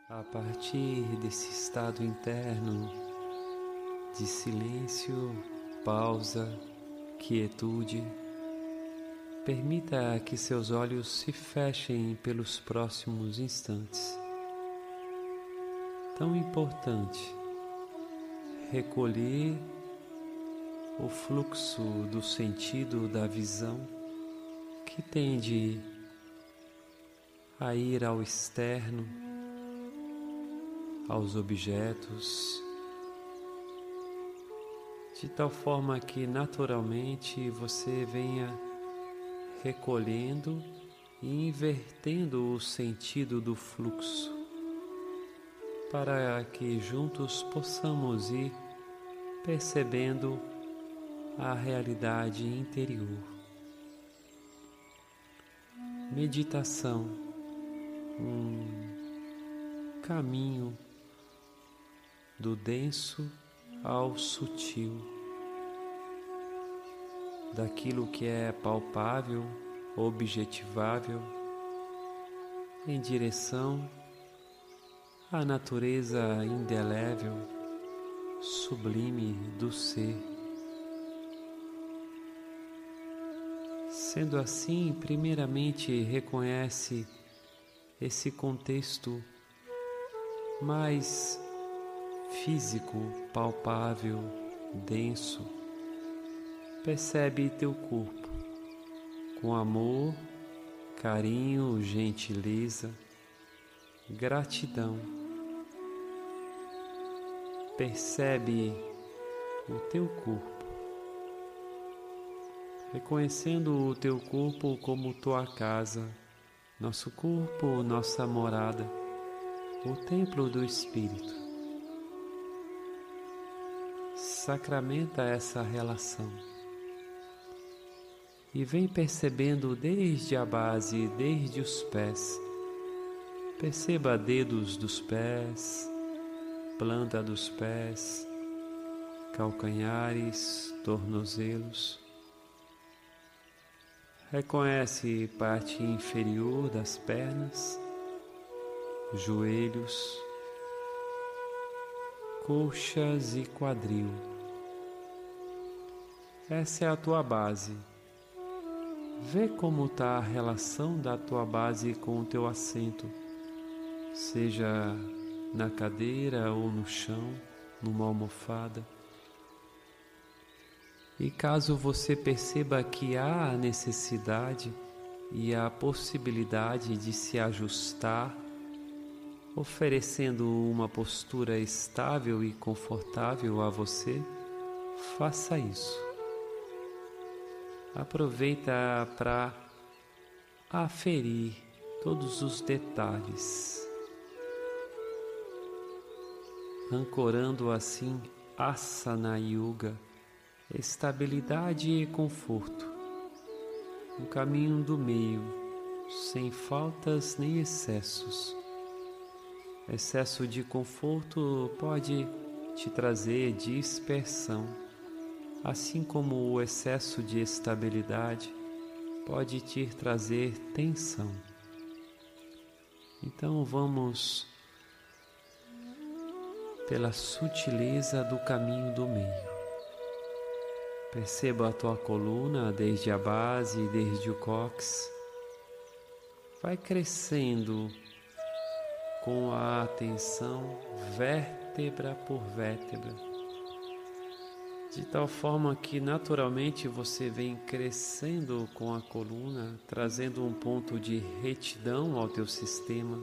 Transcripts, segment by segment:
A partir desse estado interno de silêncio, pausa, quietude, permita que seus olhos se fechem pelos próximos instantes. Tão importante recolher o fluxo do sentido da visão que tende a ir ao externo, aos objetos, de tal forma que naturalmente você venha recolhendo e invertendo o sentido do fluxo, para que juntos possamos ir percebendo a realidade interior. Meditação, um caminho do denso ao sutil, daquilo que é palpável, objetivável, em direção à natureza indelével, sublime do ser. Sendo assim, primeiramente reconhece esse contexto mais físico, palpável, denso. Percebe teu corpo com amor, carinho, gentileza, gratidão. Percebe o teu corpo, reconhecendo o teu corpo como tua casa, nosso corpo, nossa morada, o templo do Espírito. Sacramenta essa relação e vem percebendo desde a base, desde os pés. Perceba dedos dos pés, planta dos pés, calcanhares, tornozelos. Reconhece parte inferior das pernas, joelhos, coxas e quadril. Essa é a tua base. Vê como está a relação da tua base com o teu assento, seja na cadeira ou no chão, numa almofada. E caso você perceba que há a necessidade e a possibilidade de se ajustar, oferecendo uma postura estável e confortável a você, faça isso. Aproveita para aferir todos os detalhes, ancorando assim Asana Yoga, estabilidade e conforto, um caminho do meio, sem faltas nem excessos. Excesso de conforto pode te trazer dispersão, assim como o excesso de estabilidade pode te trazer tensão. Então vamos pela sutileza do caminho do meio. Perceba a tua coluna desde a base, desde o cóccix. Vai crescendo com a atenção vértebra por vértebra, de tal forma que naturalmente você vem crescendo com a coluna, trazendo um ponto de retidão ao teu sistema.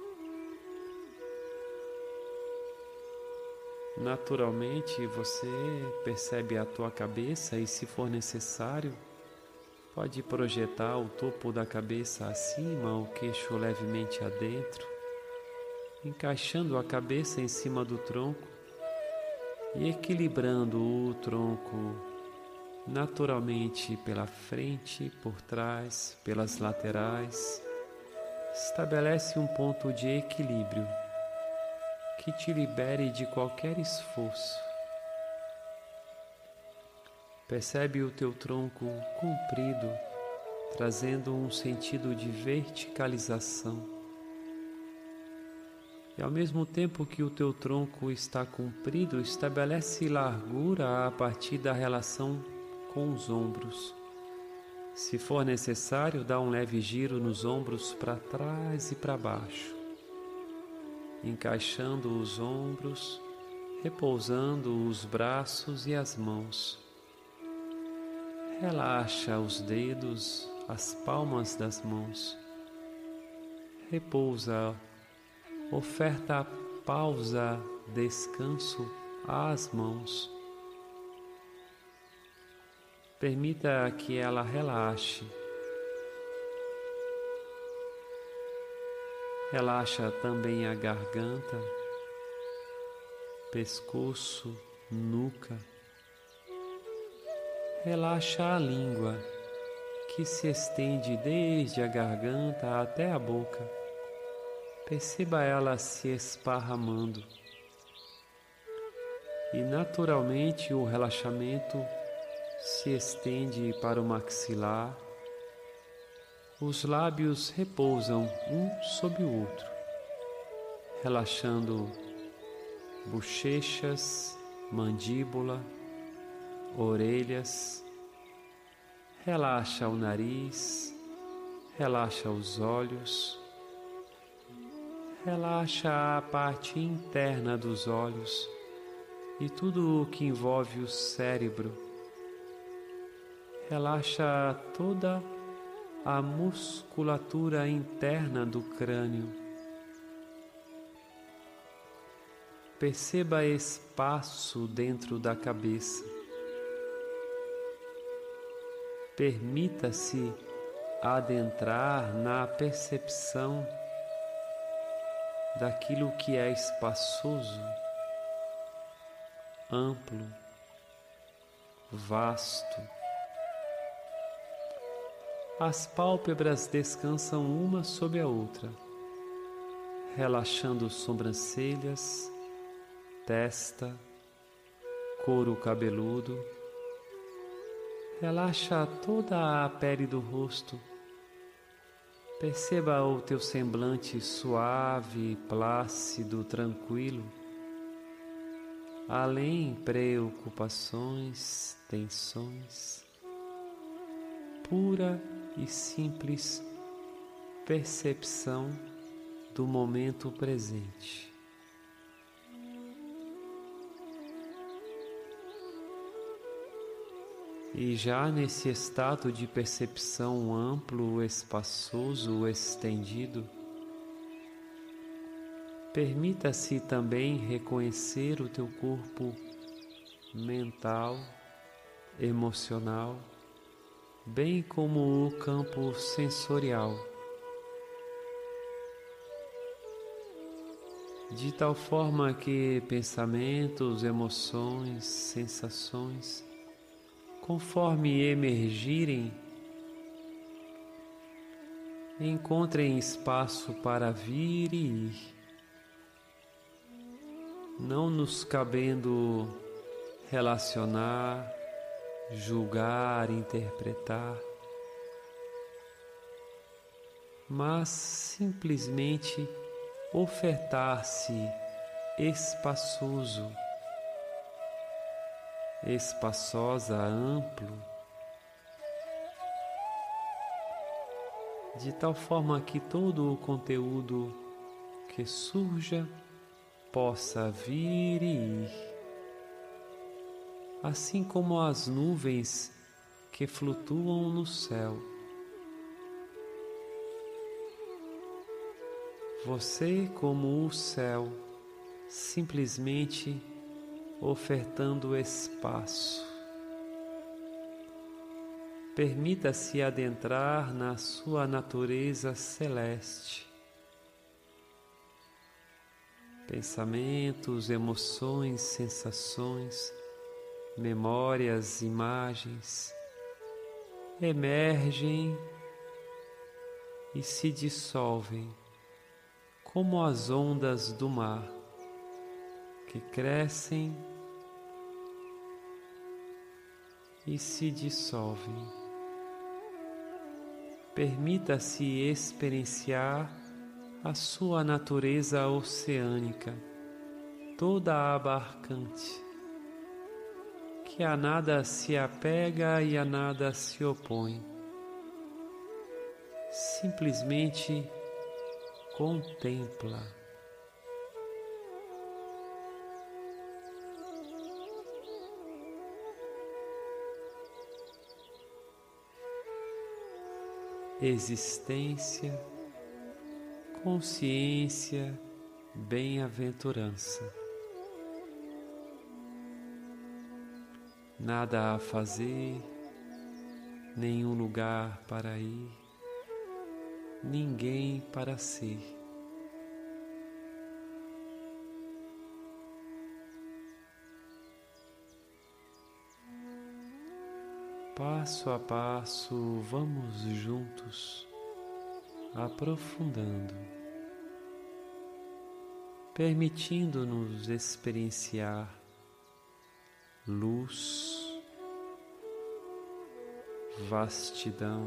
Naturalmente você percebe a tua cabeça e, se for necessário, pode projetar o topo da cabeça acima, o queixo levemente adentro, encaixando a cabeça em cima do tronco e equilibrando o tronco naturalmente pela frente, por trás, pelas laterais. Estabelece um ponto de equilíbrio que te libere de qualquer esforço. Percebe o teu tronco comprido, trazendo um sentido de verticalização. E ao mesmo tempo que o teu tronco está comprido, estabelece largura a partir da relação com os ombros. Se for necessário, dá um leve giro nos ombros para trás e para baixo, encaixando os ombros, repousando os braços e as mãos. Relaxa os dedos, as palmas das mãos. Repousa, oferta pausa, descanso às mãos. Permita que ela relaxe. Relaxa também a garganta, pescoço, nuca. Relaxa a língua, que se estende desde a garganta até a boca. Perceba ela se esparramando. E naturalmente o relaxamento se estende para o maxilar. Os lábios repousam um sobre o outro, relaxando bochechas, mandíbula, orelhas. Relaxa o nariz, relaxa os olhos, relaxa a parte interna dos olhos e tudo o que envolve o cérebro. Relaxa toda a musculatura interna do crânio. Perceba espaço dentro da cabeça. Permita-se adentrar na percepção daquilo que é espaçoso, amplo, vasto. As pálpebras descansam uma sobre a outra, relaxando sobrancelhas, testa, couro cabeludo. Relaxa toda a pele do rosto. Perceba o teu semblante suave, plácido, tranquilo. Além preocupações, tensões. Pura e simples percepção do momento presente. E já nesse estado de percepção amplo, espaçoso, estendido, permita-se também reconhecer o teu corpo mental, emocional, bem como o campo sensorial, de tal forma que pensamentos, emoções, sensações, conforme emergirem, encontrem espaço para vir e ir, não nos cabendo relacionar, julgar, interpretar, mas simplesmente ofertar-se espaçoso, espaçosa, amplo, de tal forma que todo o conteúdo que surja possa vir e ir, assim como as nuvens que flutuam no céu. Você, como o céu, simplesmente ofertando espaço. Permita-se adentrar na sua natureza celeste. Pensamentos, emoções, sensações, memórias, imagens emergem e se dissolvem como as ondas do mar que crescem e se dissolvem. Permita-se experienciar a sua natureza oceânica, toda abarcante, que a nada se apega e a nada se opõe. Simplesmente contempla. Existência, consciência, bem-aventurança. Nada a fazer, nenhum lugar para ir, ninguém para ser. Passo a passo, vamos juntos, aprofundando, permitindo-nos experienciar luz, vastidão,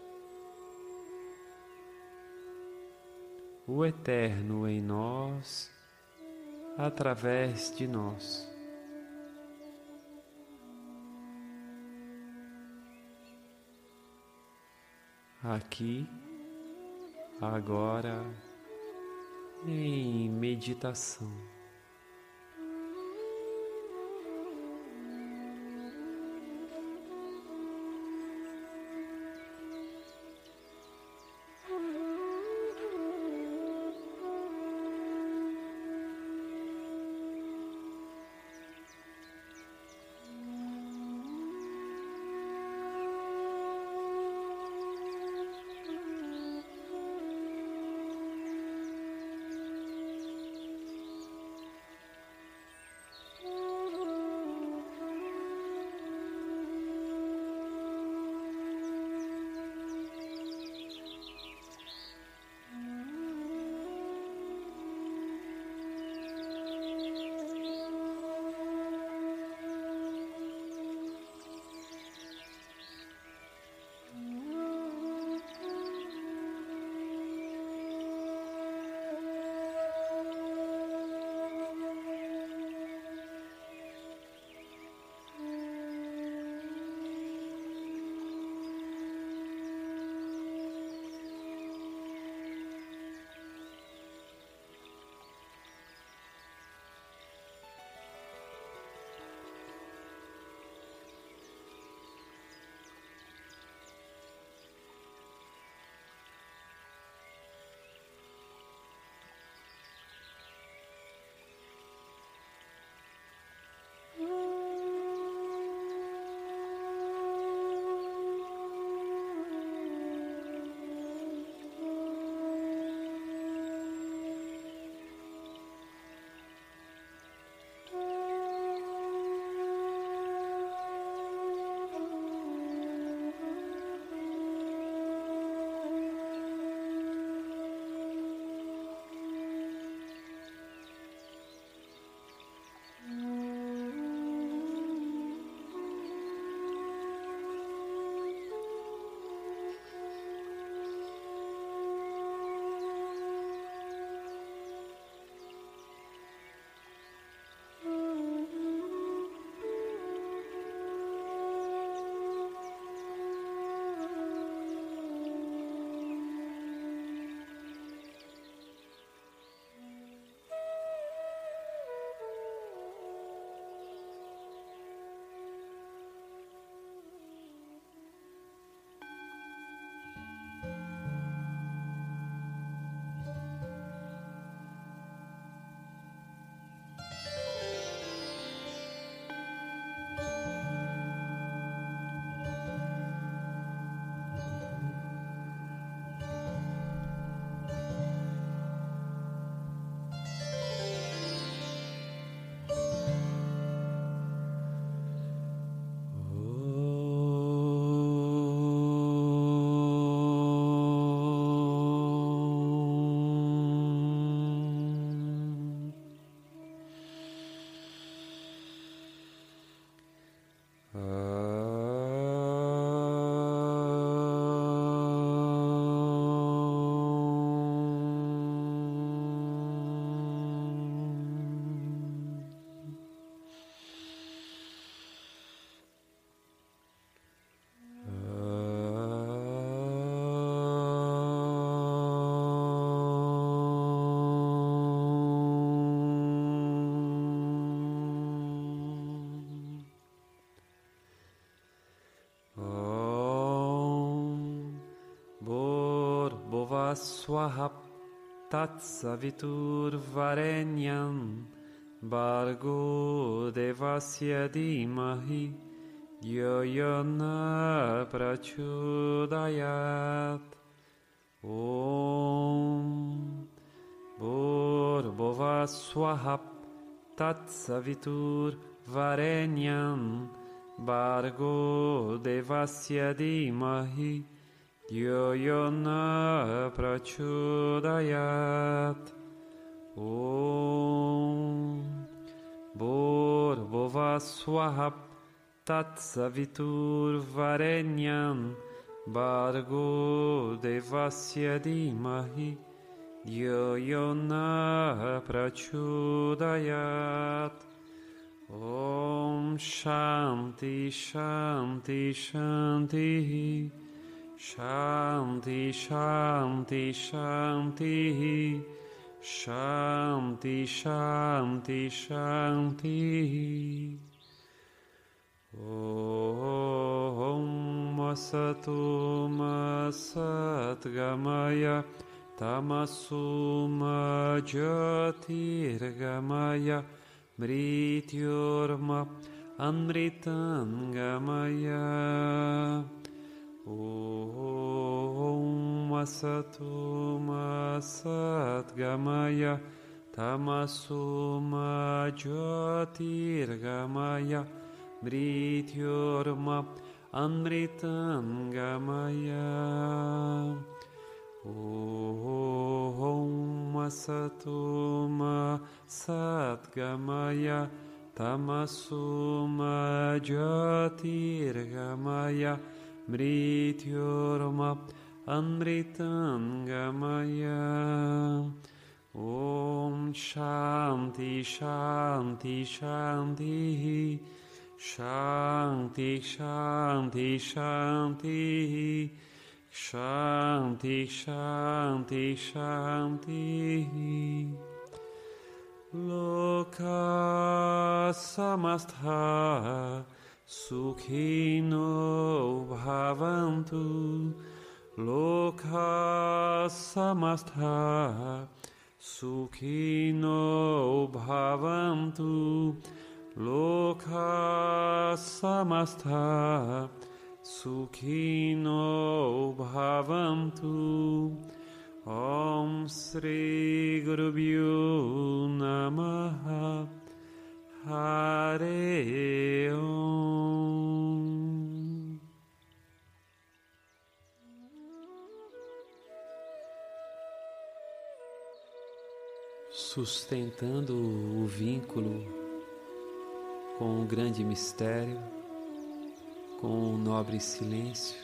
o eterno em nós, através de nós. Aqui, agora, em meditação. Swaha Tatsaviturvarenyam Bargo Devasya Dhimahi Yo Yona Prachodayat. Om Bhurvuvah Swaha Tatsaviturvarenyam Bargo Devasya Dhimahi Yo Yona Prachodayat. Om Bhurvuvah Swaha Tatsaviturvarenyam Bargo Devasya Dhimahi Yo Yona Prachodayat. Om Shanti Shanti Shanti Shanti Shanti Shanti Shanti Shanti Shanti. Om Asato Ma Satgamaya Tamaso Ma Jyotirgamaya Mrityorma Amritangamaya. Om Asato Ma Satgamaya Tamaso Ma Jyotirgamaya Mrityorma Amritangamaya. Om Asato Ma Satgamaya Tamaso Ma Jyotirgamaya Mrityorma Amritangamaya. Om Shanti Shanti Shanti Shanti Shanti Shanti Shanti Shanti Shanti. Loka samastha Sukhino bhavantu. Loka samastha Sukhino bhavantu. Loka samastha Sukhino bhavantu. Om Sri Gurubhyo Namaha. Hare Om. Sustentando o vínculo com o grande mistério, com o nobre silêncio.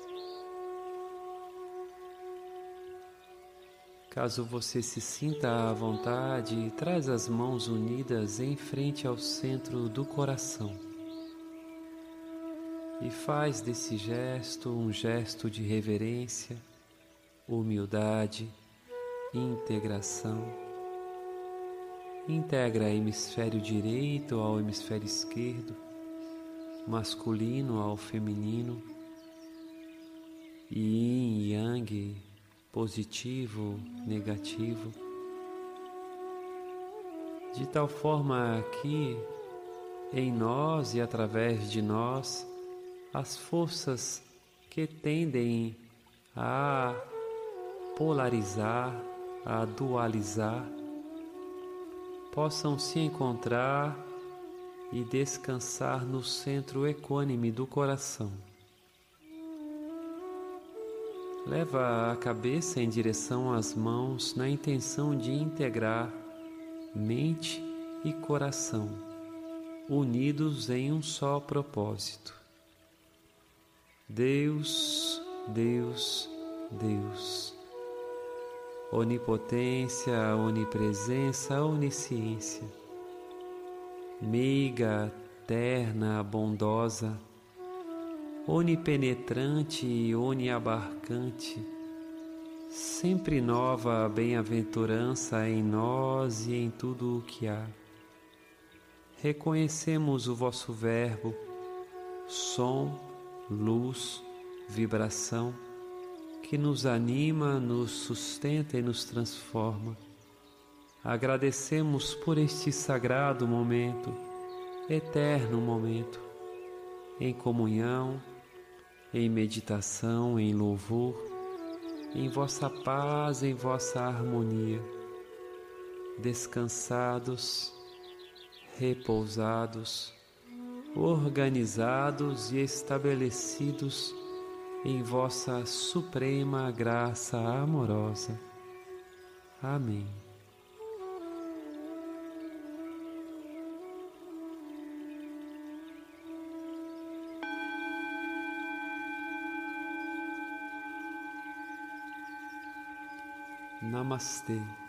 Caso você se sinta à vontade, traz as mãos unidas em frente ao centro do coração e faz desse gesto um gesto de reverência, humildade, integração. Integra hemisfério direito ao hemisfério esquerdo, masculino ao feminino, yin e yang, positivo, negativo, de tal forma que em nós e através de nós as forças que tendem a polarizar, a dualizar, possam se encontrar e descansar no centro equânime do coração. Leva a cabeça em direção às mãos na intenção de integrar mente e coração, unidos em um só propósito. Deus, Deus, Deus. Onipotência, onipresença, onisciência. Meiga, terna, bondosa, onipenetrante e oniabarcante, sempre nova a bem-aventurança em nós e em tudo o que há. Reconhecemos o vosso verbo, som, luz, vibração, que nos anima, nos sustenta e nos transforma. Agradecemos por este sagrado momento, eterno momento, em comunhão, em meditação, em louvor, em vossa paz, em vossa harmonia, descansados, repousados, organizados e estabelecidos em vossa suprema graça amorosa. Amém. Namastê.